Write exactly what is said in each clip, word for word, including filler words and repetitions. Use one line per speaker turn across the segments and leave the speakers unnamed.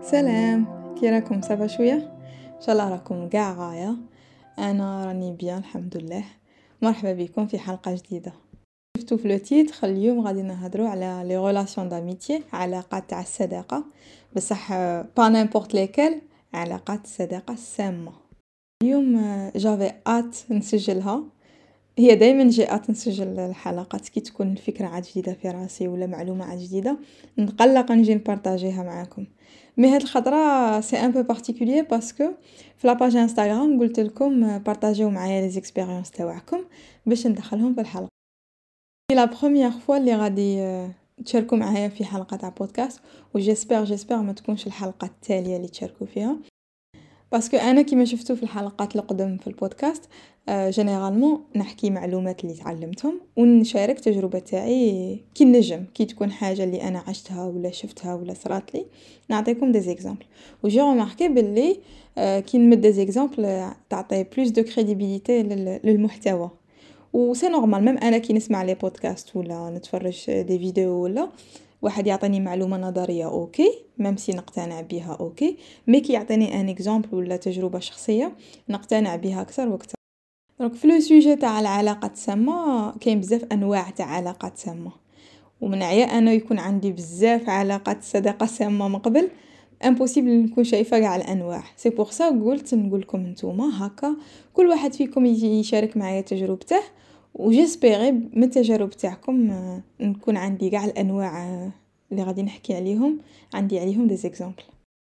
سلام، كي راكم؟ صافا شويه ان شاء الله راكم كاع غايه. انا راني بيان الحمد لله. مرحبا بكم في حلقه جديده. شفتوا في لو تيتر اليوم غادي نهضروا على لي ريلاسيون داميتي، علاقات تاع الصداقه، بصح با نيمبورط ليكال، علاقات الصداقه السامه. اليوم جافي ات نسجلها. هي دائما جاءت نسجل الحلقات كي تكون الفكره عاد جديده في راسي ولا معلومه عاد جديده نقلق نجي نبارطاجيها معاكم. مي هاد الخطره سي ان بو بارتيكولير باسكو في لاباج انستغرام قلت لكم بارطاجيو معايا لي زيكسبيريونس تاعكم باش ندخلهم في الحلقه. لا بروميير فوا اللي غادي تشاركوا معايا في حلقه تاع بودكاست، وجيسبر جيسبر ما تكونش الحلقه التاليه اللي تشاركوا فيها، باسكو انا كيما شفتوا في الحلقات القدم في البودكاست آه جينيرالمون نحكي معلومات اللي تعلمتهم ونشارك تجربه تاعي كي نجم، كي تكون حاجه اللي انا عشتها ولا شفتها ولا صرات لي نعطيكم دي زيكزامبل. وجي رماركي باللي آه كي نمد دي زيكزامبل تعطي بلوس دو كريديبيليتي للمحتوى. وسي نورمال ميم انا كي نسمع لي بودكاست ولا نتفرج دي فيديو ولا واحد يعطيني معلومه نظريه اوكي ميم سي نقتنع بها اوكي، مي كي يعطيني ان اكزامبل ولا تجربه شخصيه نقتنع بها اكثر واكثر. دونك في لو سوجي تاع العلاقات السامه كاين بزاف انواع تاع علاقات سامه، ومن عيا انا يكون عندي بزاف علاقات صداقه سامه من قبل امبوسيبل نكون شايفه كاع الانواع. سي بور سا قلت نقول لكم نتوما هكا كل واحد فيكم يجي يشارك معايا تجربته، وجيسبيغي من التجارب تاعكم نكون عندي كاع الانواع اللي غادي نحكي عليهم، عندي عليهم دي زيكزامبل.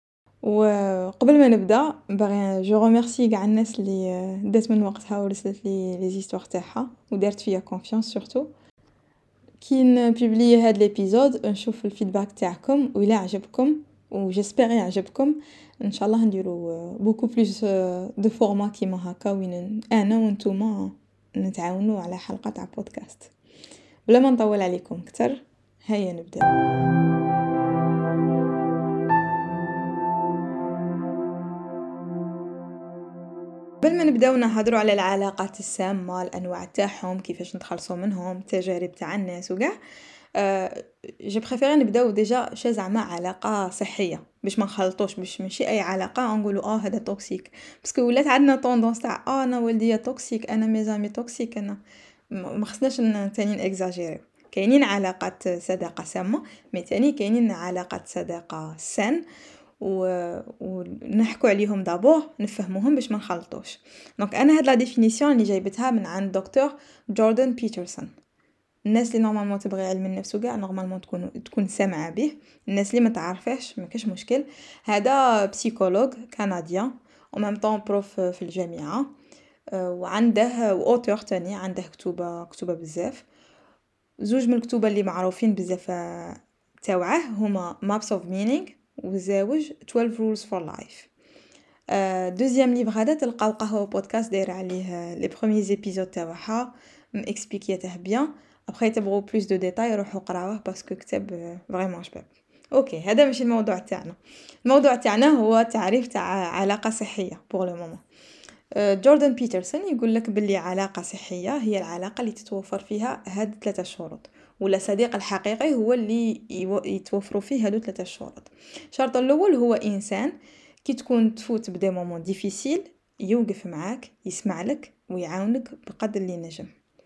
وقبل ما نبدا باغي جو ريميرسي كاع الناس اللي دات من وقتها ورسلت لي لي زيستوار تاعها ودارت فيا كونفيونس. سورتو كي نبوبلي هاد ليبيزود نشوف الفيدباك تاعكم وإلا عجبكم وجيسبر يعجبكم ان شاء الله نديرو بوكو بلوس دو فورما كيما هكا وين انا وانتوما نتعاونوا على حلقه تاع بودكاست. بلا ما نطول عليكم اكثر هيا نبدا. قبل ما نبداو نهضروا على العلاقات السامه، الانواع تاعهم، كيفاش نتخلصوا منهم، التجارب تاع الناس وكاع، أه جو بريفير نبداو ديجا شي زعما علاقه صحيه باش ما نخلطوش، باش ماشي اي علاقه نقولوا اه هذا توكسيك، باسكو ولات عندنا طوندونس تاع اه انا ولدي توكسيك، انا ميزامي توكسيك، انا ما خصناش ثاني اكزاجيري. كاينين علاقات صداقه سامه، مي ثاني كاينين علاقات صداقه سان و ونحكوا عليهم دابور نفهموهم باش ما نخلطوش. دونك انا هاد لا ديفينيسيون اللي جايبتها من عند دكتور جوردن بيترسون. الناس اللي نورمالمون تبغي علم النفس وكاع نورمالمون تكون تكون سامعه به، الناس اللي ما تعرفهش ما كاش مشكل. هذا بسيكولوج كنديان او ميم طون بروف في الجامعه، وعنده اوتور تاني عنده كتوبه كتوبه بزاف. زوج من الكتوبه اللي معروفين بزاف تاوعه هما Maps of Meaning وزاوج twelve rules for life. دوزيام ليفر هذا تلقاو قهوه بودكاست داير عليه لي بروميي زيبيزود تاعها ماكسبليكيته بيان. ابخي تبغوا بلوس دو ديتاي روحوا قراوه باسكو كتاب فريمون شباب. اوكي هذا ماشي الموضوع تاعنا. الموضوع تاعنا هو تعريف تاع علاقه صحيه بور لو مومون. جوردن بيترسون يقول لك باللي علاقه صحيه هي العلاقه اللي تتوفر فيها هاد ثلاثه شروط، ولا صديق الحقيقي هو اللي يتوفروا فيه هادو ثلاثه شروط. الشرط الاول هو انسان كي تكون تفوت بدي مومون ديفيسيل يوقف معاك يسمع لك ويعاونك بقدر اللي نجم.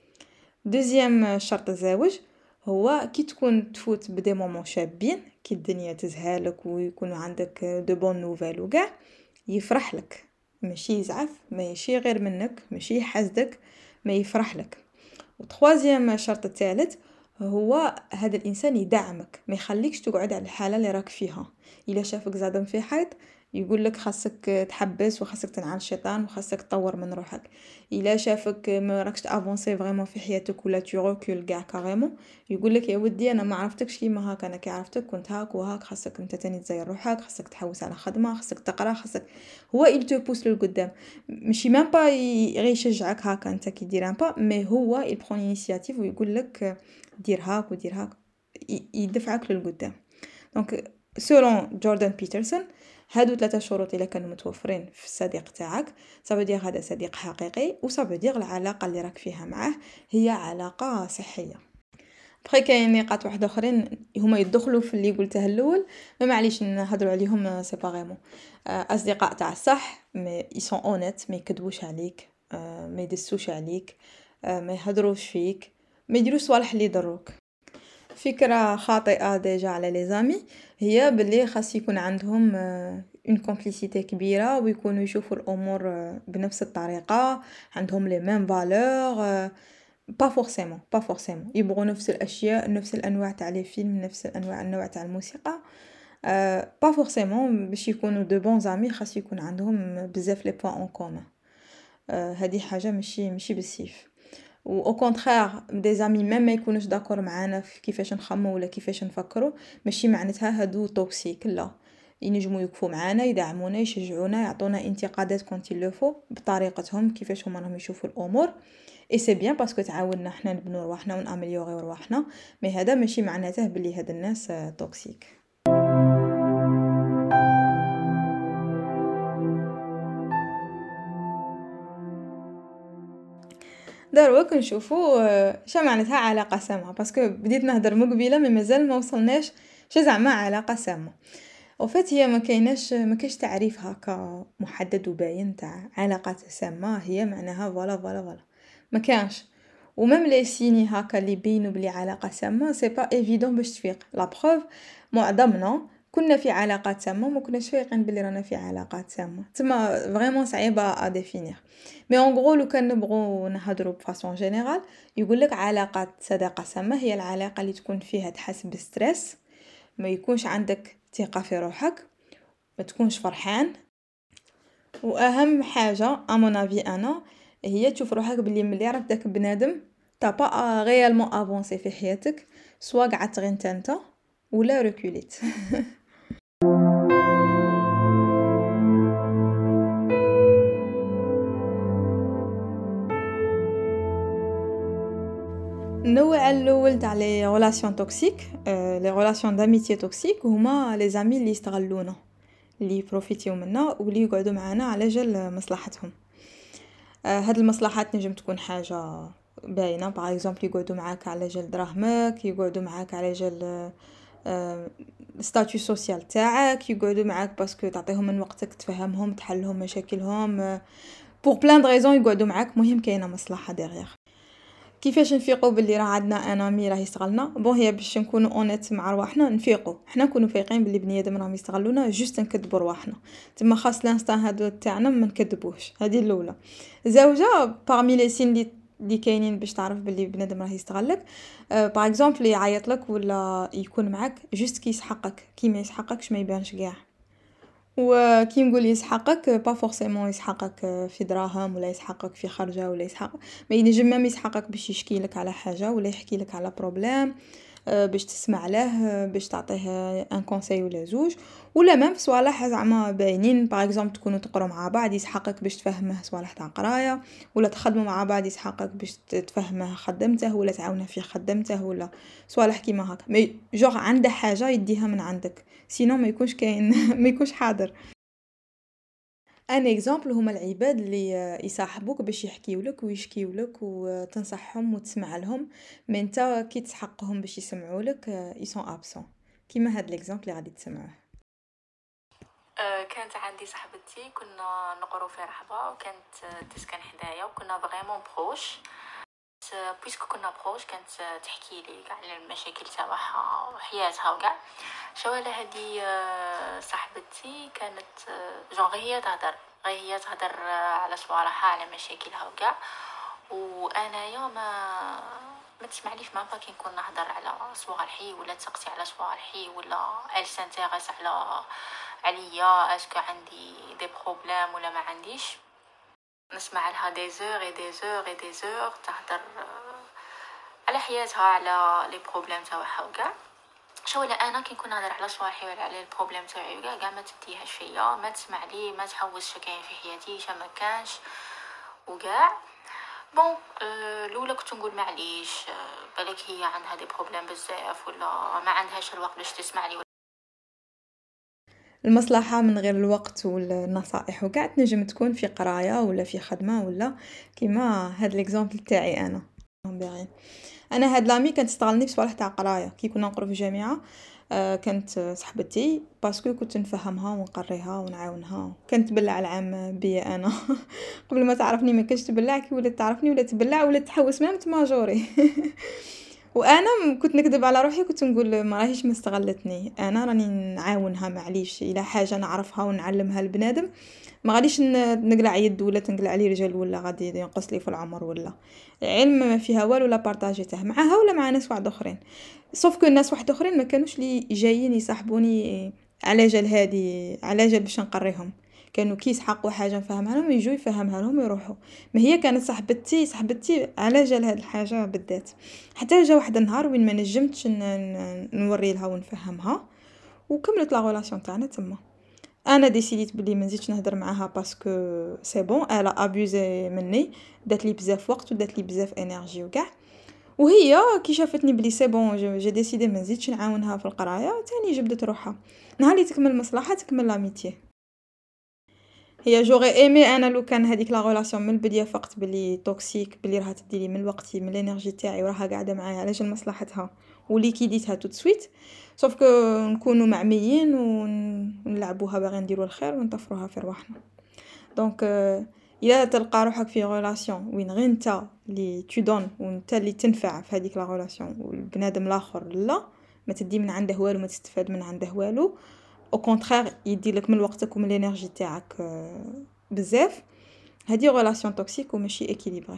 دوزيام شرط الزواج هو كي تكون تفوت بدي مومون شابين كي الدنيا تزهالك ويكون عندك دو بون نوفيل وكاع يفرح لك، ماشي يزعف، ماشي غير منك، ماشي يحسدك، ما يفرح لك. وتخوازيام شرط الثالث هو هذا الانسان يدعمك، ما يخليكش تقعد على الحاله اللي راك فيها. الا شافك زادم في حيط يقول لك خاصك تحبس وخاصك تنعل الشيطان وخاصك تطور من روحك. الا شافك ما راكش تافونسي فريمون في حياتك ولا تو ريكول كاع كاريمون يقول لك يا ودي انا ما عرفتكش كيما هاك، انا كي عرفتك كنت هاك وهاك، خاصك انت تاني تزير روحك، خاصك تحوس على خدمه، خاصك تقرا، خاصك هو il te pousse للقدام. ماشي مام با غير يشجعك هاكا انت كي دير ان با، مي هو il prend l'initiative ويقول لك دير هاك ودير هاك، يدفعك للقدام. دونك سولون جوردن بيترسون هادو ثلاثه شروط الا كانوا متوفرين في الصديق تاعك صافي دير هذا صديق حقيقي، وصافي دير العلاقه اللي راك فيها معاه هي علاقه صحيه. بخي كاين نقاط واحد اخرين هما يدخلوا في اللي قلته الاول، ما معليش نهضروا عليهم سيباريمون. اصدقاء تاع الصح مي يسون اونيت، ما يكذبوش عليك، ما يدسوش عليك، ما يهضروش فيك، ما يديروش صوالح اللي يضروك. فكرة خاطئة ديجا على لي زامي هي باللي خاص يكون عندهم اون كومبليسيتي كبيرة ويكونوا يشوفوا الامور بنفس الطريقة، عندهم لي ميم فالور. با فورسيمون با فورسيمون يبغوا نفس الاشياء، نفس الانواع تاع لي فيلم، نفس الانواع النوع تاع الموسيقى. با فورسيمون باش يكونوا دو بون زامي خاص يكون عندهم بزاف لي بوين اون كومون. هذه حاجة ماشي ماشي بالسيف. و او كونترير دي زامي ميم ما يكونوش داكور معانا في كيفاش نخمو ولا كيفاش نفكروا، ماشي معناتها هادو توكسيك، لا. ينجموا يوقفوا معانا، يدعمونا، يشجعونا، يعطونا انتقادات كونت لو فو بطريقتهم كيفاش هما راهم يشوفوا الامور. اي سي بيان باسكو تعاوننا حنا نبنوا رواحنا ونامليوريو رواحنا، مي هذا ماشي معناته بلي هاد الناس توكسيك. دروك نشوفوا شا معناتها علاقة سامة، باسكو بديت نهضر من قبيله مي مازال ما وصلناش شا زعما علاقة سامة. او فات هي ما كايناش ما كاينش تعريف هكا محدد وباين تاع علاقات سامة، هي معناها فوالا فوالا فوالا ما كانش. وميم لي سيني هكا اللي يبينوا بلي علاقة سامة سي با ايفيدون باش تفيق. لا بروف معظمنا كنا في علاقات سامة وما كناش فايقين بلي رانا في علاقات سامة، تما فريمون صعيبة ا ديفينير. مي اون غرو لو كان نبغوا نهضروا بفاسون جينيرال يقول لك علاقات صداقة سامة هي العلاقة اللي تكون فيها تحس بستريس، ما يكونش عندك ثقة في روحك، ما تكونش فرحان، واهم حاجة امون افي انا هي تشوف روحك بلي ملي راك داك بنادم تا با ريالمون افونسي في حياتك، سوا قعدت غير نتا ولا ركوليت. النوع الاول تاع لي ريلاسيون توكسيك، لي ريلاسيون داميتي توكسيك هما لي زامي اللي يستغلونا، اللي يبروفيتيو منا واللي يقعدوا معنا على جال مصلحتهم. هاد المصلحات نجم تكون حاجه باينه، باغ اكزومبل يقعدوا معاك على جال دراهمك، يقعدوا معاك على جال ستاتيو سوسيال تاعك، يقعدوا معاك باسكو تعطيهم من وقتك، تفهمهم، تحلهم مشاكلهم، بور بلان د ريزون يقعدوا معاك. مهم كاينه مصلحه ديغيغ. كيفاش نفيقوا باللي راه عندنا انا مي راه يستغلنا؟ بون هي باش نكونوا اونيت مع رواحنا، نفيقوا حنا نكونوا فايقين باللي بنيادم راهم يستغلونا، جوست نكذبوا رواحنا. تما خاص لانستان هادو تاعنا ما نكذبوش، هذه الاولى. زوجه بارمي لي سين اللي اللي كاينين باش تعرف باللي بنادم راه يستغلك، باغ اكزومبل يعيط لك ولا يكون معك جوست كي يسحقك، كي ما يسحقكش ما يبانش كاع. وكي نقول يسحقك با فورسيمون يسحقك في دراهم ولا يسحقك في خرجه ولا يسحق، ما ينجم ما يسحقك باش يشكي لك على حاجه ولا يحكي لك على بروبليم، باش تسمع له، باش تعطيه ان كونساي ولا زوج، ولا ميم في صوالح زعما باينين. باغ اكزومبل تكونوا تقروا مع بعض يسحقك باش تفهمه صوالح تاع قرايه، ولا تخدموا مع بعض يسحقك باش تفهمه خدمته ولا تعاونه في خدمته ولا صوالح كيما هكا. مي جوغ عنده حاجه يديها من عندك، سينو ما يكونش كاين ما يكونش حاضر. ان اكزامبل هما العباد اللي يصاحبوك باش يحكيولك ويشكيولك وتنصحهم وتسمع لهم، مي انت كي تسحقهم باش يسمعولك يسون ابسون، كيما هاد ليكزامبل اللي غادي تسمعوه.
أه كانت عندي صاحبتي كنا نقرو في رحبه وكانت تسكن حدايا وكنا فريمون بروش. بويسكو كنا بروش كانت تحكي لي كاع على المشاكل تاعها وحياتها وكاع. شوالا هذه صاحبتي كانت جون غير هي تهدر غير هي تهدر على صوالحها على مشاكلها وكاع، وانايا ما ما تسمعليش ما با كي نكون نهضر على صوالحي ولا تسقسي على صوالحي ولا ال سانتيريس على عليا اسكو عندي دي بروبليم ولا ما عنديش. نسمع لها دي زور اي دي زور اي دي زور تهدر على حياتها على لي بروبليم تاعها وكاع. شولا انا كي نكون نهضر على صوالحي ولا على البروبليم تاعي وكاع كاع ما تديهاش فيا، ما تسمع لي، ما تحوس كاين في حياتي شا ما كانش وكاع. بون أه الاولى كنت نقول معليش أه بالك هي عندها دي بروبليم بزاف ولا ما عندهاش الوقت باش تسمع لي.
المصلحه من غير الوقت والنصائح وكاع تنجم تكون في قرايه ولا في خدمه ولا كيما هاد ليكزامبل تاعي انا. باغيين. انا هاد لامي كانت تستغلني بصوالح تاع قرايه كي كنا نقرو في الجامعه. آه كانت صاحبتي باسكو كنت نفهمها ونقريها ونعاونها، كانت تبلع العام بيا انا قبل ما تعرفني ما كانتش تبلع، كي ولات تعرفني ولات تبلع ولات تحوس ميم تماجوري وانا م- كنت نكذب على روحي، كنت نقول ما راهيش ما استغلتني، انا راني نعاونها معليش الى حاجه نعرفها ونعلمها لبنادم، ما غاديش ن- نقلع يد ولا تنقلع لي رجل ولا غادي ينقص لي في العمر ولا علم ما فيها والو لا بارطاجيته معاها ولا مع ناس واحد اخرين. سوف كو الناس واحد اخرين ما كانوش لي جايين يصاحبوني على جال هادي، على جال باش نقريهم، كانوا كي يسحقوا حاجه نفهمها لهم يجوا يفهمها لهم ويروحوا. ما هي كانت صاحبتي صاحبتي على جال هاد الحاجه بالذات، حتى جا واحد النهار وين ما نجمتش ن- ن- نوري لها ونفهمها، وكملت لا غولاسيون تاعنا تما. انا ديسيديت بلي ما نزيدش نهضر معاها باسكو سي بون الا ابوزي مني، دات لي بزاف وقت ودات لي بزاف انرجي وكاع. وهي كي شافتني بلي سي بون جو جي ديسيدي ما نزيدش نعاونها في القرايه تاني جبدت روحها. نهار اللي تكمل المصلحه تكمل لاميتي. هي جوغي ايمي انا لو كان هذيك لا ريلاسيون من البدايه فقط بلي توكسيك، بلي راها تديلي من وقتي من الانرجي تاعي وراها قاعده معايا على جال مصلحتها وليكيديتها تو سويت، سوف كو نكونوا معميين ونلعبوها باغي نديروا الخير ونطفروها في رواحنا. دونك الا تلقى روحك في ريلاسيون وين غير نتا اللي تو دون ونتا اللي تنفع في هذيك لا ريلاسيون والبنادم الاخر لا، ما تدي من عنده والو ما تستفاد من عنده والو، او كونترير يدي لك من وقتك ومن الانرجي تاعك بزاف، هذه ريلاسيون توكسيك وماشي اكيليبري.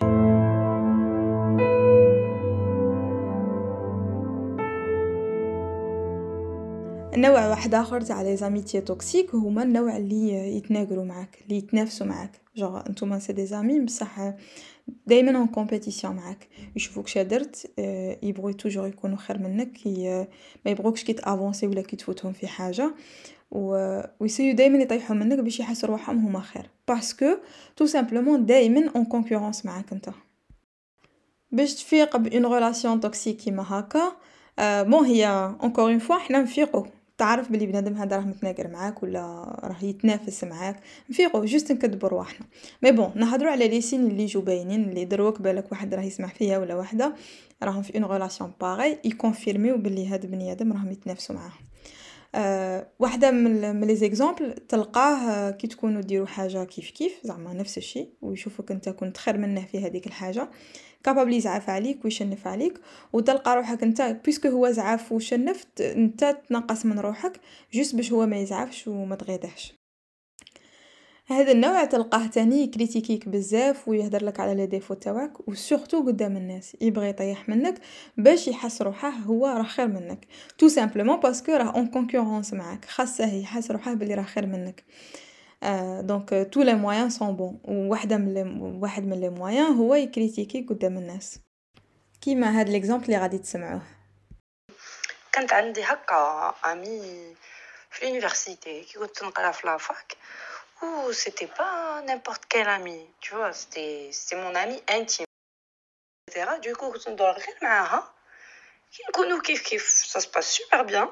النوع واحد اخر تاع لي زاميتي توكسيك هما النوع اللي يتناقروا معاك، اللي يتنافسوا معاك، جوغ نتوما سي دي زامي بصح دائما اون كومبيتيسيون معاك، يشوفوك شادرت يبغوا توجور يكونوا خير منك، ما يبغوكش كي تافونسي ولا كي تفوتهم في حاجه، و ويسيو دائما يطيحوا منك باش يحسوا روحهم هما خير، باسكو تو سامبلومون دائما اون كونكورونس معاك انت. باش تفيق بأون ريلاسيون توكسيك كيما هاكا، آه بون هي اونكور اون فوا حنا نفيقوا، تعرف بلي بنادم هذا راه متناقر معاك ولا راه يتنافس معاك، نفيقوا جوست نكذبوا رواحنا. مي بون نهضروا على لي سين اللي يجوا باينين، اللي دروك بالك واحد راه يسمع فيها ولا وحده راهم في اون ريلاسيون باغي يكونفيرميو بلي هاد بني ادم راهم يتنافسوا معاه. أه واحدة من من لي زيكزامبل تلقاه آه، كي تكونوا ديروا حاجة كيف كيف زعما نفس الشيء ويشوفك انت كنت خير منه في هذيك الحاجة، كابابل يزعف عليك ويشنف عليك، وتلقى روحك انت بيسكو هو زعف وشنفت انت تنقص من روحك جوست باش هو ما يزعفش وما تغيظهش. هذا النوع تلقاه تاني يكريتيكيك بزاف ويهدر لك على لي ديفو تاعك وسورتو قدام الناس يبغي يطيح منك باش يحس روحه هو راه خير منك، تو سامبلومون باسكو راه اون كونكورونس معاك، خاصه يحس روحه بلي راه خير منك. آه دونك تو لي مويان سون بون، وواحده من لي واحد من لي مويان هو يكريتيكي قدام الناس، كيما هاد ليكزامبل اللي غادي تسمعوه.
كانت عندي هكا امي في l'université كي كنت نقرا في لافاك ou c'était pas n'importe quel ami tu vois c'était c'était mon ami intime etc du coup كنت ندور غير معاها كي نكونوا كيف كيف ça se passe super bien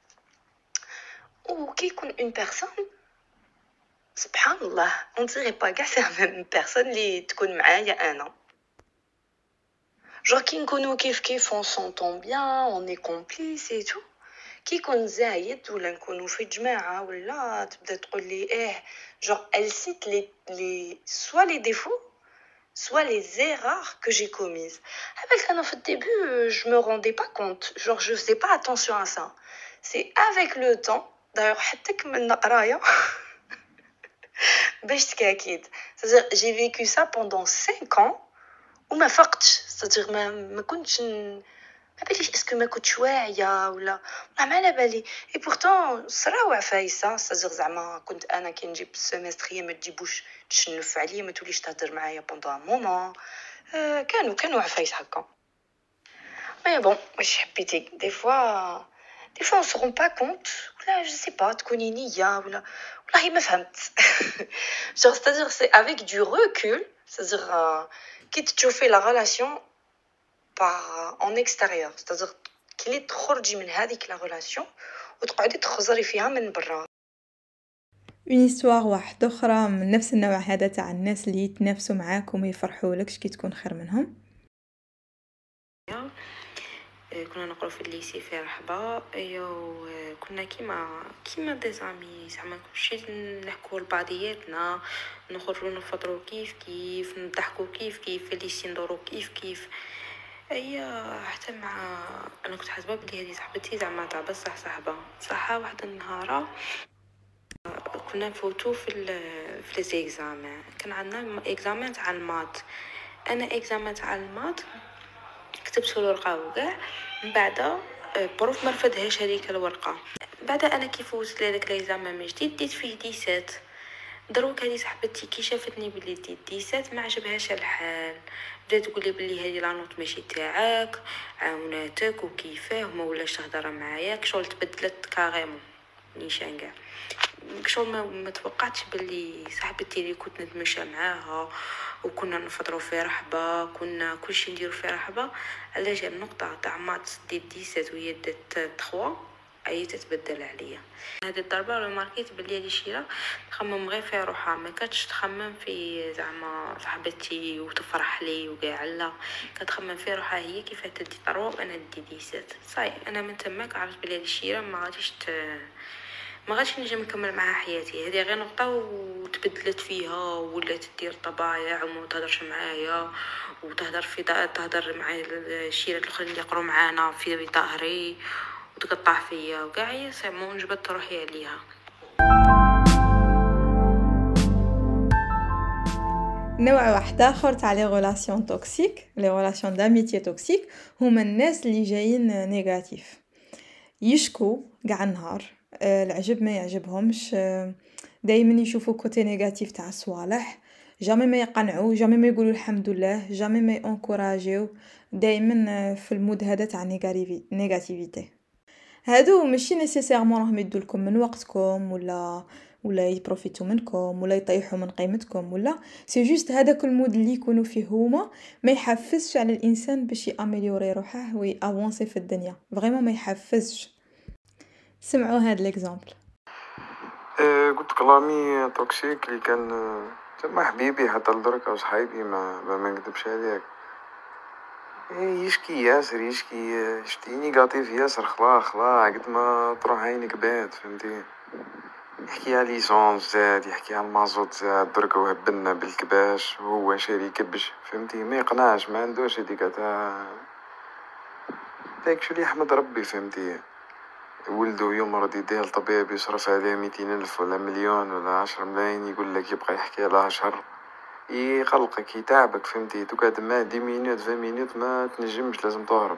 وكي يكون une personne سبحان الله on dirait pas كاع c'est la même personne اللي تكون معايا انا genre كي نكونوا كيف كيف on s'entend bien on est complice et tout كي يكون زايد ولا نكونوا في جماعه ولا تبدا تقول لي ايه genre elle cite les les soit les défauts soit les erreurs que j'ai commises avec انا في début je me rendais pas compte genre je faisais pas attention à ça c'est avec le temps d'ailleurs حتى كملنا قرايه باش تكاكيد c'est-à-dire j'ai vécu ça pendant cinq ans وما فقتش c'est-à-dire ما ما كنتش ما باليش اسكو ما كنتش واعيه ولا ما على بالي اي بورتون صراو عفايسه صدق زعما كنت انا كي نجيب السيمستر ما تجيبوش تشنف عليا ما توليش تهضر معايا بوندون مومون آه كانوا كانوا عفايس هكا مي بون واش حبيتي دي فوا دي فوا on se rend pas compte ولا je sais pas تكوني نيه ولا والله ما فهمت genre c'est-à-dire c'est avec du recul c'est-à-dire كي تشوفي la relation par en extérieur c'est-à-dire كي تخرجي من هذيك لا ريلاسيون وتقعدي تخزري فيها من برا.
اون histoire واحده اخرى من نفس النوع هذا تاع الناس اللي يتنافسوا معاك وما يفرحولكش كي تكون خير منهم.
كنا نقرأ في الليسي في رحبة. ايوا كنا كيما كيما دي زامي زعما كلشي نحكوا لبعضياتنا، نخرجوا نفطروا كيف كيف، نضحكوا كيف كيف، في الليسي ندوروا كيف كيف. ايا حتى مع انا كنت حاسبه بلي هذه صاحبتي زعما تاع بصح صاحبه صح. واحد النهار كنا نفوتو في ال في ليزيكزامان، كان عندنا اكزامان تاع المات. انا اكزامان تاع المات كتبت الورقه وكاع، من بعد بروف ما رفدهاش هذيك الورقه. بعد انا كي فوت لهذاك ليزامان من جديد ديت فيه ديسات. دروك هذه صاحبتي كي شافتني بلي ديت ديسات ما عجبهاش الحال، بدات تقول لي بلي هذه لا نوت ماشي تاعك، عاوناتك وكيفاه وما ولاش تهضر معايا. كشغل تبدلت كاريمون نيشان كاع. كشغل ما, ما توقعتش بلي صاحبتي اللي كنت نتمشى معاها وكنا نفطروا في رحبه، كنا كلشي نديرو في رحبه، على جال النقطه تاع مات دي ديسات وهي دات تخوا اي تتبدل عليا. هذه الضربه ولا ماركيت بلي هذه شيره تخمم غير في روحها، ما كانتش تخمم في زعما صاحبتي وتفرح لي وكاع، لا كتخمم في روحها هي كيف تدي طروا وانا ندي ديسات. صاي انا من تماك عرفت بلي هذه الشيره ما غاديش ت... ما غاديش نجي نكمل معها حياتي. هذه غير نقطه وتبدلت فيها، ولات تدير طبايع وما تهضرش معايا وتهضر في تهضر مع الشيرات الاخرين اللي يقروا معانا في ظهري وتقطع فيا وكاع. هي سمو نجبت روحي عليها.
نوع واحد اخر تاع لي غولاسيون توكسيك، لي غولاسيون داميتي توكسيك، هما الناس اللي جايين نيجاتيف، يشكو كاع النهار، آه، العجب ما يعجبهمش، آه، دايما يشوفوا كوتي نيجاتيف تاع الصوالح، جامي ما يقنعوا، جامي ما يقولوا الحمد لله، جامي ما ينكوراجيو، دايما في المود هذا تاع نيجاتيفيتي. هادو ماشي نيسيسيرمون راهم يدولكم من وقتكم ولا ولا يبروفيتو منكم ولا يطيحوا من قيمتكم، ولا سي جوست هذاك المود اللي يكونوا فيه هما ما يحفزش على الانسان باش ياميليوري روحه ويافونسي في الدنيا، فريمون ما يحفزش. سمعوا هاد ليكزامبل.
آه، قلت كلامي توكسيك اللي كان آه، تما حبيبي حتى لدرك او صحيبي، ما ما ما نكذبش عليك. إيه، يشكي ياسر يشكي، آه، شتي نيجاتيف ياسر، خلا خلا قد ما تروح عينك بعد، فهمتي. يحكي على ليسونس زاد، يحكي على المازوت زاد، درك وهبلنا بالكباش وهو شاري كبش، فهمتي. ما يقنعش، ما عندوش هذيك تاع داك شو اللي يحمد ربي، فهمتي. ولدو يمرض يديه الطبيب يصرف عليه ميتين ألف ولا مليون ولا عشر ملايين، يقول لك يبقى يحكي لها شهر، يقلقك يتعبك، فهمتي. تقعد معاه دي مينوت في مينوت ما تنجمش، لازم تهرب.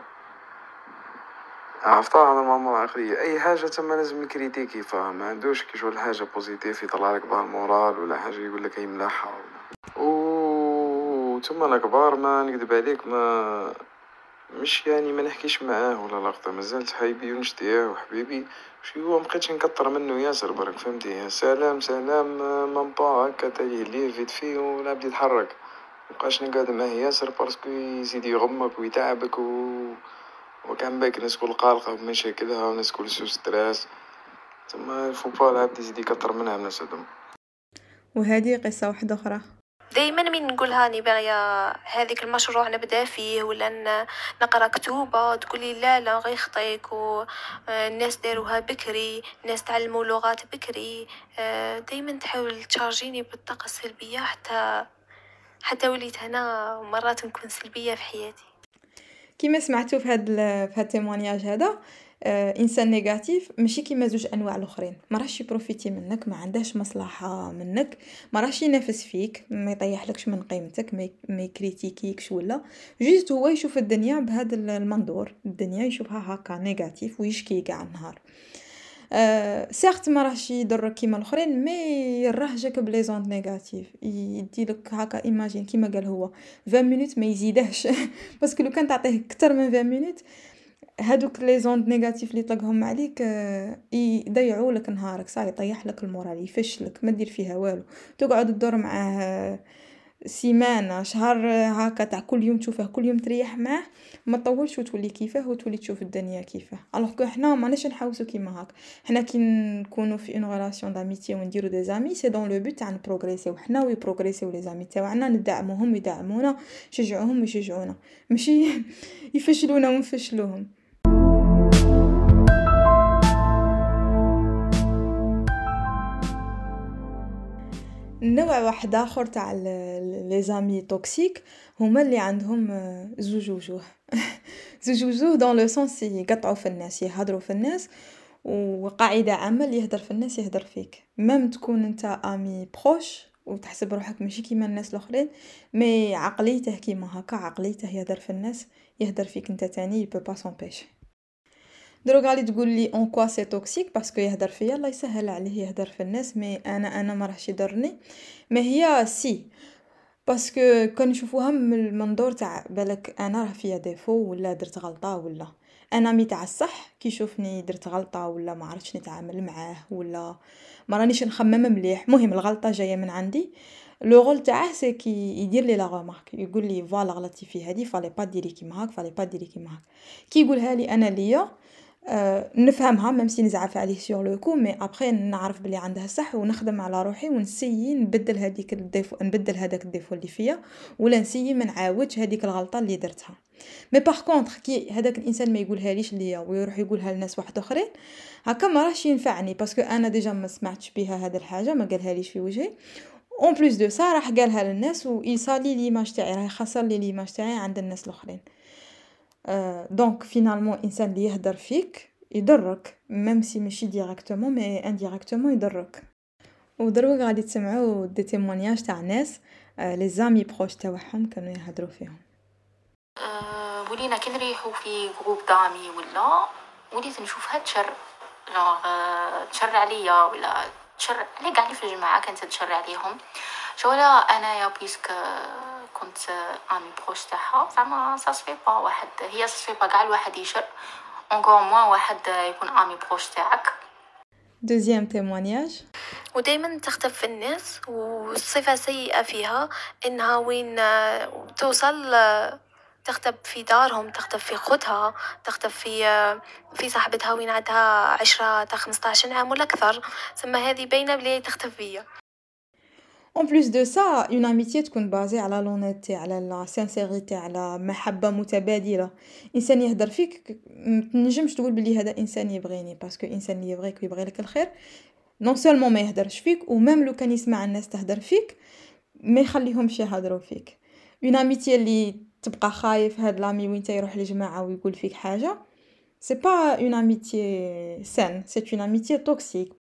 عرفتها هذا ماما عقلية، اي حاجه تما لازم يكريتيكي، فاهم. ما عندوش كي شغل حاجه بوزيتيف يطلع لك بها المورال ولا حاجه يقول لك هي ملاحه ولا و ثم الكبار ما نكذب عليك، ما مش يعني ما نحكيش معاه ولا لقطه، مازال صحيبي ونشتيه وحبيبي، شي هو مبقيتش نكثر منه ياسر برك، فهمتي. سلام سلام مامبا هكا تاهي ليه فيت فيه ولا بدي يتحرك، مبقاش نقعد معاه ياسر باسكو يزيد يغمك ويتعبك و وكان باك الناس كل قلقة بمشاكلها والناس كل سو ستريس، تما الفوبا العبد يزيد يكثر منها الناس هادوما.
وهذه قصه واحده اخرى
دائما من نقولها اني باغيه هذيك المشروع نبدا فيه ولا ن- نقرا كتوبه، تقولي لا لا غير خطيك والناس داروها بكري، الناس تعلموا لغات بكري. دائما تحاول تشارجيني بالطاقه السلبيه حتى حتى وليت هنا مرات نكون سلبيه في حياتي.
كيما سمعتوا في هاد ال- في هاد التيمونياج هذا، آه، انسان نيجاتيف ماشي كيما زوج انواع الاخرين، ما راهش يبروفيتي منك، ما عندهش مصلحه منك، ما راهش ينافس فيك، ما يطيحلكش من قيمتك، ما يك- ما يكريتيكيكش، ولا جوست هو يشوف الدنيا بهذا المنظور، الدنيا يشوفها هكا نيجاتيف ويشكي كاع النهار. أه سيغت ما راهش يضرك كيما الاخرين، مي يرهجك بلي زوند نيجاتيف، يديلك هكا ايماجين كيما قال هو عشرين مينوت ما يزيدهش باسكو لو كان تعطيه اكثر من عشرين مينوت هادوك لي زوند نيجاتيف اللي يطلقهم عليك أه يضيعوا لك نهارك، صاي يطيح لك المورال، يفشلك، ما دير فيها والو، تقعد تدور معاه سيمانه شهر هكا تاع كل يوم تشوفه، كل يوم تريح معاه، ما تطولش وتولي كيفاه وتولي تشوف الدنيا كيفاه. الوغ كو حنا ماناش نحوسو كيما هاك، حنا كي نكونوا في اون ريلاسيون داميتي ونديرو دي زامي سي دون لو بوت تاع نبروغريسيو حنا ويبروغريسيو لي زامي تاعنا، ندعموهم ويدعمونا، نشجعوهم ويشجعونا، ماشي يفشلونا ونفشلوهم. نوع واحد اخر تاع لي زامي توكسيك هما اللي عندهم زوج وجوه زوج وجوه دون لو سونس يقطعوا في الناس، يهضروا في الناس، وقاعده عامه اللي يهدر في الناس يهدر فيك، ميم تكون انت امي بروش وتحسب روحك ماشي كيما الناس الاخرين، مي عقليته كيما هكا، عقليته يهدر في الناس يهدر فيك انت تاني، يبو با سامبيشي. دروك غادي تقول لي اون كوا سي توكسيك باسكو يهدر فيا، الله يسهل عليه يهدر في الناس، مي انا انا ما راحش يضرني. ما هي سي باسكو كنشوفوها من المنظور تاع بالك انا راه فيا ديفو ولا درت غلطه، ولا انا مي تاع الصح كي يشوفني درت غلطه ولا ما عرفتش نتعامل معاه ولا ما رانيش نخمم مليح، مهم الغلطه جايه من عندي، لو رول تاعه سي كي يدير لي لا رمارك، يقول لي فوالا غلطتي في هذه، فالي با ديري كيما هاك، فالي با ديري كيما هاك. كي يقولها لي انا ليا أه نفهمها ميم سي نزعف عليه سور لو كو، مي ابري نعرف بلي عندها صح ونخدم على روحي ونسيي نبدل هذيك الديفو، نبدل هذاك الديفو اللي فيا، ولا نسيي ما نعاودش هذيك الغلطه اللي درتها. مي باغ كونطخ كي هذاك الانسان ما يقولها ليش ليا ويروح يقولها لناس واحد اخرين، هكا ما راهش ينفعني باسكو انا ديجا ما سمعتش بها هذه الحاجه، ما قالها ليش في وجهي، اون بليس دو سا راح قالها للناس ويصالي ليماج تاعي، راه يخسر لي ليماج تاعي عند الناس الاخرين. أه دونك فينالمون انسان اللي يهدر فيك يضرك، ميم سي ماشي ديريكتومون مي انديريكتومون يضرك. ودروك غادي تسمعوا دي تيمونياج تاع ناس أه لي زامي بروش تاعهم كانوا يهضروا فيهم.
أه ولينا كي نريحو في جروب دامي ولا وليت نشوفها تشر، جونغ أه تشر عليا ولا تشر علي كاع اللي في الجماعه كانت تشر عليهم. شولا انايا بيسك كنت امي بروش تاعها، زعما سا سفي با واحد، هي سا سفي با كاع الواحد يشر، اونكور موان واحد يكون امي بروش تاعك.
دوزيام تيمونياج،
ودايما تختف في الناس، والصفة سيئة فيها إنها وين توصل تختب في دارهم، تختب في خدها، تختب في في صاحبتها وين عندها عشرة تا خمسطاش عام ولا أكثر، ثم هذه باينة بلي تختف فيا.
اون بليس دو سا اون اميتي تكون بازي على لونيتي، على لا سانسيريتي، على محبه متبادله. انسان يهدر فيك تنجمش تقول بلي هذا انسان يبغيني، باسكو انسان اللي يبغيك ويبغي لك الخير نون سولمون ما يهدرش فيك، وميم لو كان يسمع الناس تهدر فيك ما يخليهمش يهضروا فيك. اون اميتي اللي تبقى خايف هاد لامي وين يروح لجماعه ويقول فيك حاجه، سي با اون اميتي سان، سي اون اميتي توكسيك.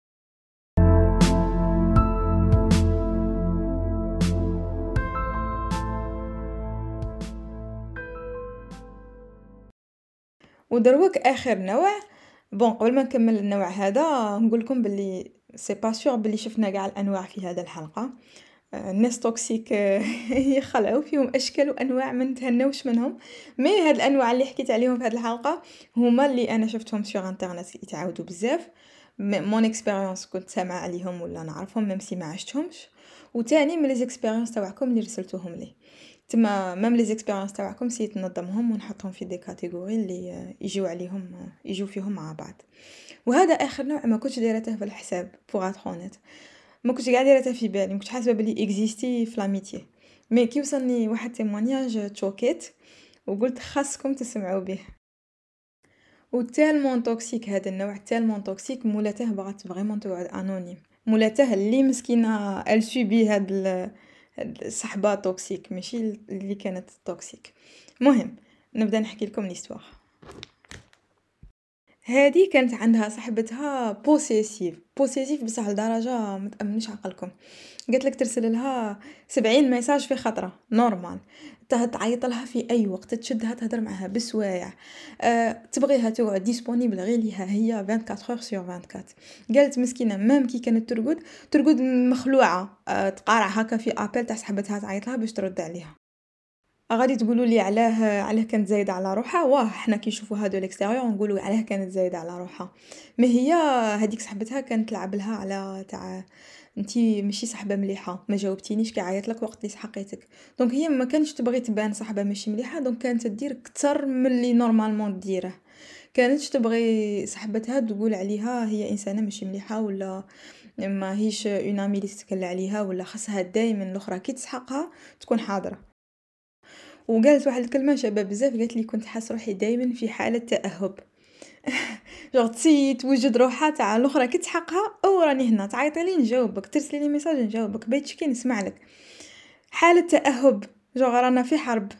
ودروك اخر نوع، بون قبل ما نكمل النوع هذا نقول لكم باللي سي با سور باللي شفنا كاع الانواع في هذه الحلقه. الناس توكسيك يخلعوا فيهم اشكال وانواع ما نتهناوش منهم، مي هاد الانواع اللي حكيت عليهم في هذه الحلقه هما اللي انا شفتهم سور انترنت يتعاودوا بزاف، مون اكسبيريونس كنت سامعه عليهم ولا نعرفهم ميم سي ما عشتهمش، وتاني من لي زيكسبيريونس تاعكم اللي رسلتوهم لي، تما ميم لي زيكسبيريونس تاعكم سيت ننظمهم ونحطهم في دي كاتيجوري اللي يجيو عليهم يجيو فيهم مع بعض. وهذا اخر نوع ما كنتش دايرته في الحساب بوغ اترونيت، ما كنتش قاعده دايرته في بالي، ما كنتش حاسبه بلي اكزيستي في لاميتي، مي كي وصلني واحد تيمونياج تشوكيت وقلت خاصكم تسمعوا به. وتالمون توكسيك هذا النوع، تالمون توكسيك مولاته بغات فريمون تقعد انونيم، مولاته اللي مسكينه ال سوبي هاد الصحبه توكسيك ماشي اللي كانت توكسيك. مهم نبدا نحكي لكم ليستوار. هذه كانت عندها صاحبتها بوسيسيف بوسيسيف بصح لدرجه ما تامنش عقلكم، قالت لك ترسل لها سبعين ميساج في خطره نورمال، تعيط لها في اي وقت، تشدها تهضر معها بسوايع، أه، تبغيها تقعد ديسپونيبل غير ليها هي أربعة وعشرين اور سور أربعة وعشرين. قالت مسكينه مام كي كانت ترقد ترقد مخلوعه، أه، تقارع هكا في ابل تاع صاحبتها تعيط لها باش ترد عليها. غادي تقولوا لي علاه علاه كانت زايده على روحها، واه حنا كي نشوفوا هادو الاكستيريور نقولوا علاه كانت زايده على روحها، ما هي هذيك صاحبتها كانت تلعب لها على تاع انتي ماشي صاحبه مليحه، ما جاوبتينيش كي عيط لك وقت اللي سحقيتك، دونك هي ما كانش تبغي تبان صاحبه ماشي مليحه، دونك كانت تدير اكثر من اللي نورمالمون ديره، كانتش تبغي صاحبتها تقول عليها هي انسانه ماشي مليحه ولا ما هيش اون امي اللي تتكل عليها، ولا خاصها دائما الاخرى كي تسحقها تكون حاضره. وقالت واحد الكلمه شابه بزاف، قالت لي كنت حاس روحي دائما في حاله تاهب جوغ تسيي توجد روحها تاع الاخرى كي تحقها او راني هنا تعيطي لي نجاوبك ترسلي لي ميساج نجاوبك بيتش كي نسمع لك حاله تاهب جوغ رانا في حرب.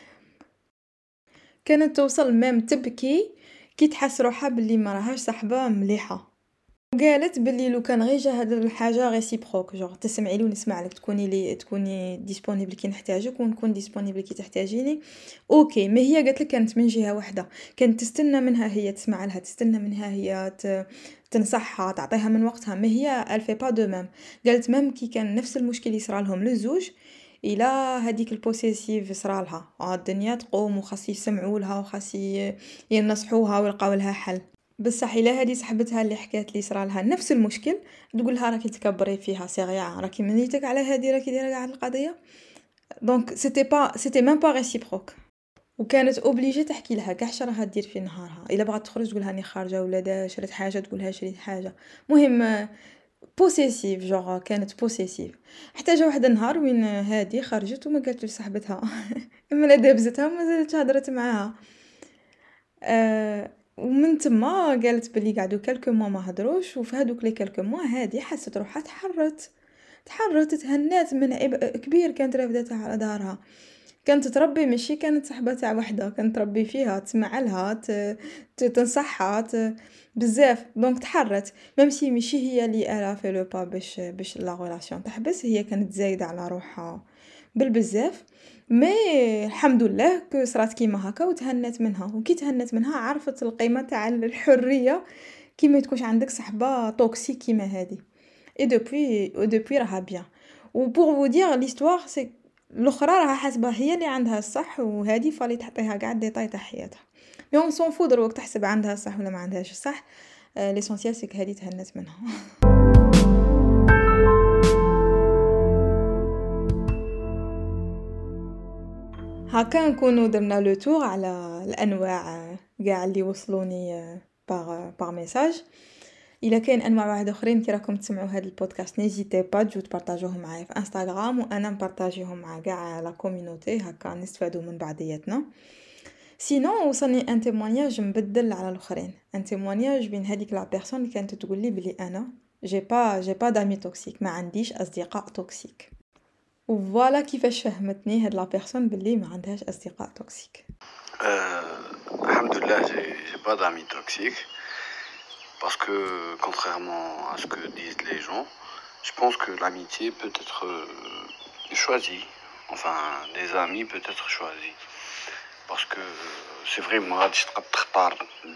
كانت توصل ميم تبكي كي تحس روحها باللي ما راهاش صاحبه مليحه وقالت باللي لو كان غير جا هاد الحاجه ريسيبروك جوغ تسمعي لي ونسمع لك تكوني لي تكوني ديسپونيبل كي نحتاجك ونكون ديسپونيبل كي تحتاجيني اوكي. ما هي قالت لك كانت من جهه واحده كانت تستنى منها هي تسمع لها تستنى منها هي ت... تنصحها تعطيها من وقتها ما هي الفي با دو ميم. قالت ميم كي كان نفس المشكل يصرى لهم للزوج الى هذيك البوسيسيف صرا لها الدنيا تقوم وخاص يسمعوا لها وخاص ينصحوها ويلقاو لها حل. بصح الا هذه صاحبتها اللي حكات لي صرا لها نفس المشكل تقول لها راكي تكبري فيها سيغيا راكي منيتك على هذه راكي دايره كاع القضيه دونك سيتي با سيتي ميم با ريسيبروك. وكانت اوبليجي تحكي لها كاع اش راها دير في نهارها الا بغات تخرج تقول لها راني خارجه ولا دا شريت حاجه تقول لها شريت حاجه مهم بوسيسيف جوغ كانت بوسيسيف. حتى جا واحد النهار وين هادي خرجت وما قالت لصاحبتها اما لا دابزتها وما زالت هضرت معاها أه ومن تما قالت بلي قعدوا كلكو موا ما هضروش وفي هذوك لي كلكو موا هادي حست روحها تحرت تحرت تهنات من عبء كبير كانت رافدتها على دارها. كانت تربي ماشي كانت صاحبه تاع وحده كانت تربي فيها تسمع لها تنصحها بزاف دونك تحرت ميم سي ماشي هي اللي الا في لو با باش باش لا ريلاسيون تحبس هي كانت زايده على روحها بالبزاف مي الحمد لله كو صرات كيما هكا وتهنت منها وكي تهنت منها عرفت القيمه تاع الحريه كي ما تكونش عندك صحبه توكسيك كيما هذه اي دوبوي او دوبوي راها بيان. و بور فو دير ليستوار سي الاخرى راها حاسبه هي اللي عندها الصح وهذه فالي تعطيها كاع ديطاي تاع حياتها مي اون سون فو دروك تحسب عندها الصح ولا ما عندهاش الصح ليسونسيال سي هذه تهنت منها. هكا نكونوا درنا لو تور على الانواع كاع اللي وصلوني باغ باغ ميساج. الا كاين انواع واحد اخرين كي راكم تسمعوا هذا البودكاست نيزيتي با تجو تبارطاجوهم معايا في انستغرام وانا نبارطاجيهم مع كاع لا كوميونيتي هكا نستفادوا من بعضياتنا. سينو وصلني ان تيمونياج مبدل على الاخرين ان تيمونياج بين هذيك لا بيرسون اللي كانت تقول لي بلي انا جي با جي با دامي توكسيك ما عنديش اصدقاء توكسيك وفوالا كيفاش فهمتني هاد لا بيرسون بلي ما عندهاش اصدقاء توكسيك.
Euh, Alhamdoulilah, j'ai, j'ai pas d'amis toxiques parce que contrairement à ce que disent les gens, je pense que l'amitié peut être euh, choisie, enfin des amis peut être choisis parce que c'est vrai moi غادي تبقى تختار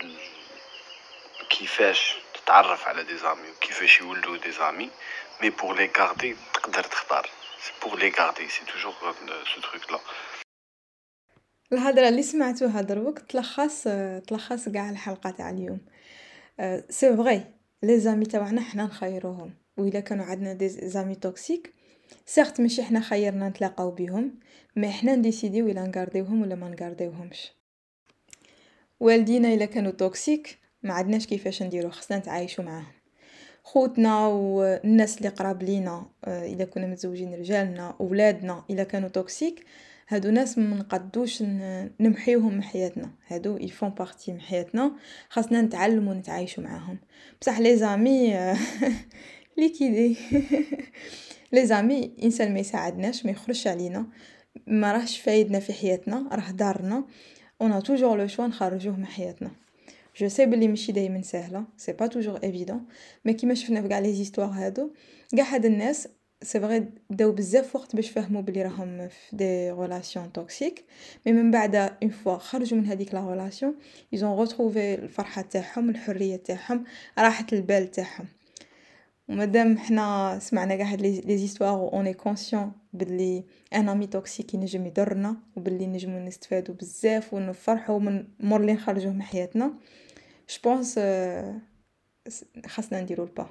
كيفاش تتعرف على des amis وكيفاش يولدوا des amis mais pour les garder تقدر تختار c'est pour les garder c'est toujours ce truc là.
الهضره اللي سمعتوها دروك تلخص تلخص كاع الحلقه تاع اليوم. سي فري لي زامي تاعنا حنا نخيروهم واذا كانوا عندنا دي زامي توكسيك سيرت ماشي حنا خيرنا نتلاقاو بهم مي حنا نديسيديو الا نغارديوهم ولا ما نغارديوهمش. والدينا الا كانوا توكسيك ما عندناش كيفاش نديرو خصنا نتعايشوا معاهم. خوتنا والناس اللي قراب لينا اذا كنا متزوجين رجالنا اولادنا الا كانوا توكسيك هادو ناس ما نقدوش نمحيوهم من حياتنا هادو يفون بارتي من حياتنا خاصنا نتعلموا نتعايشوا معاهم. بصح لي زامي ليكيدي لي زامي انسان ما يساعدناش ما يخرجش علينا ما راهش فايدنا في حياتنا راه دارنا اون توجور لو شوا نخرجوه من حياتنا. جو سي بلي ماشي دائما سهله سي با توجور ايفيدون مي كيما شفنا في كاع لي زيستوار هادو كاع هاد الناس سي فري داو بزاف وقت باش فهموا بلي راهم في دي ريلاسيون توكسيك مي من بعد اون فوا خرجوا من هذيك لا ريلاسيون ايزون روتروفي الفرحه تاعهم الحريه تاعهم راحه البال تاعهم. ومادام حنا سمعنا كاع هاد لي زيستوار و اون اي كونسيون بلي ان امي توكسيك ينجم يضرنا وبلي نجمو نستفادوا بزاف ونفرحوا من مور اللي نخرجوه من حياتنا جو بونس خاصنا نديرو البا.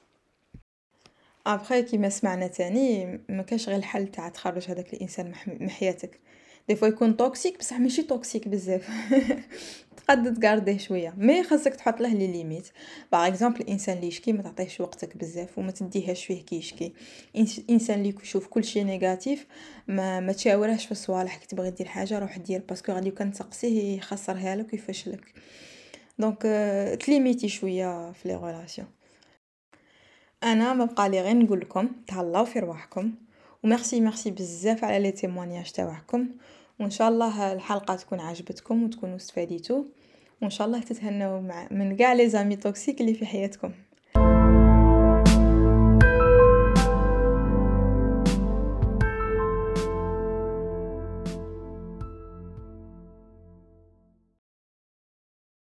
ابري كيما سمعنا تاني ما كاش غير الحل تاع تخرج هذاك الانسان من حياتك دي فوا يكون توكسيك بصح ماشي توكسيك بزاف تقد تغارديه شويه مي خاصك تحط له لي ليميت. باغ اكزومبل الانسان اللي يشكي ما تعطيهش وقتك بزاف وما تديهاش فيه كي يشكي. انسان اللي يشوف كل شيء نيجاتيف ما ما تشاورهش في الصوالح كي تبغي دير حاجه روح دير باسكو غادي كان تسقسيه يخسرها لك ويفشلك. دونك تليميتي شويه في لي ريلاسيون. انا ما بقى لي غير نقول لكم تهلاو في رواحكم، وميرسي ميرسي بزاف على لي تيموانياج تاعكم، وان شاء الله الحلقه تكون عجبتكم وتكونوا استفاديتوا، وان شاء الله تتهنوا مع من كاع لي زامي توكسيك اللي في حياتكم.